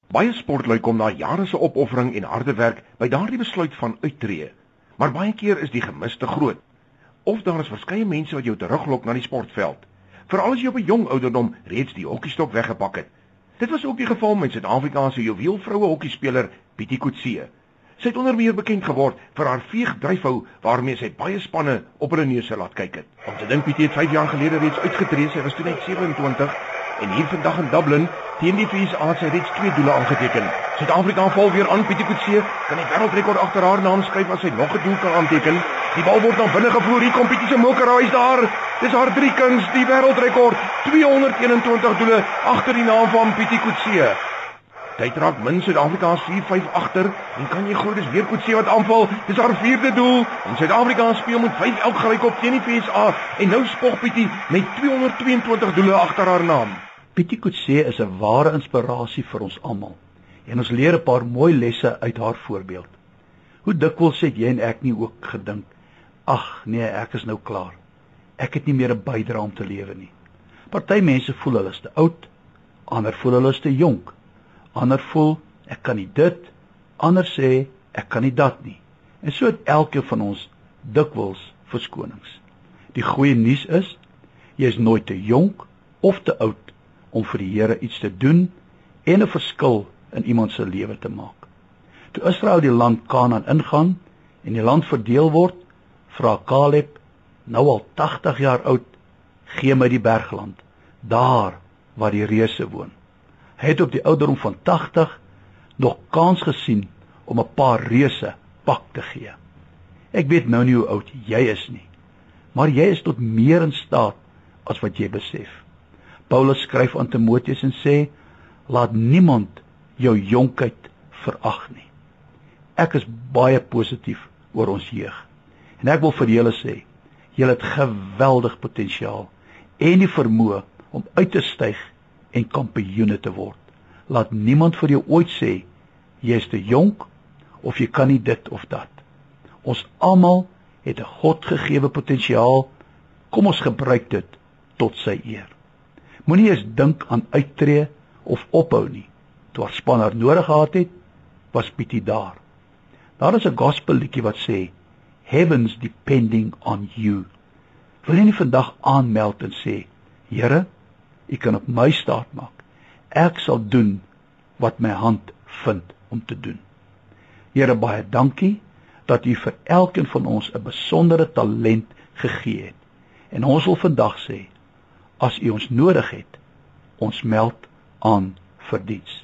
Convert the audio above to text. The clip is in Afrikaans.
Baie sportlui kom na jare se opoffering en harde werk by daardie besluit van uittreë. Maar baie keer is die gemis te groot. Of daar is verskeie mense wat jou teruglok na die sportveld, veral as jy op 'n jong ouderdom reeds die hokkiestok weggepak het. Dit was ook die geval met Suid-Afrikaanse juweel vroue hokkiespeler Pietie Coetzee. Sy het onder meer bekend geword vir haar veegdryfhou waarmee sy baie spanne op hulle neuse laat kyk het. Om te dink Pietie het 5 jaar gelede reeds uitgetree, sy was toe net 27 en hier vandag in Dublin teen die VSA het sy reeds 2 doele aangeteken. Suid-Afrika val weer aan. Pietie Coetzee kan die wêreldrekord agter haar naam skryf as sy nog 'n doel kan aanteken. Die bal word na binne gevoer. Hier kom Pietie se mokeraai is daar. Dis haar 3 kuns, die wêreldrekord. 221 doele agter die naam van Pietie Coetzee. Tyd raak min, Suid-Afrika is 4-5 agter en kan jy glo dis weer Coetzee wat aanval. Dis haar 4de doel en Suid-Afrika speel met 5-11 gelykop teen die VSA en nou spog Pietie met 222 doele agter haar naam. Pietie Coetzee is 'n ware inspirasie vir ons almal en ons leer 'n paar mooi lesse uit haar voorbeeld. Hoe dikwels het jy en ek nie ook gedink, ag nee, ek is nou klaar. Ek het nie meer 'n bydrae om te lewe nie. Party mense voel hulle is te oud, ander voel hulle is te jonk. Ander voel ek kan nie dit, ander sê ek kan nie dat nie. En so het elkeen van ons dikwels verskonings. Die goeie nuus is, jy is nooit te jonk of te oud om vir die Here iets te doen en 'n verskil in iemand se lewe te maak. Toe Israel die land Kanaan ingaan en die land verdeel word, vra Caleb, nou al 80 jaar oud, gee my die bergland, daar waar die reuse woon. Hy het op die ouderdom van 80 nog kans gesien om 'n paar reuse pak te gee. Ek weet nou nie hoe oud jy is nie, maar jy is tot meer in staat as wat jy besef. Paulus skryf aan Timoteus en sê, laat niemand jou jonkheid verag nie. Ek is baie positief oor ons jeug. En ek wil vir julle sê, julle het geweldig potensiaal en die vermoë om uit te styg en kampioene te word. Laat niemand vir jou ooit sê, jy is te jonk of jy kan nie dit of dat. Ons almal het 'n Godgegewe potensiaal, kom ons gebruik dit tot sy eer. Moenie eens dink aan uittreë of ophou nie. Toe haar span haar nodig gehad het, was Pietie daar. Daar is 'n gospel liedjie wat sê, Heaven's depending on you. Wil jy nie vandag aanmeld en sê, Here, U kan op my staat maak. Ek sal doen wat my hand vind om te doen. Here, baie dankie dat U vir elkeen van ons 'n besondere talent gegee het. En ons wil vandag sê, as U ons nodig het, ons meld aan vir diens.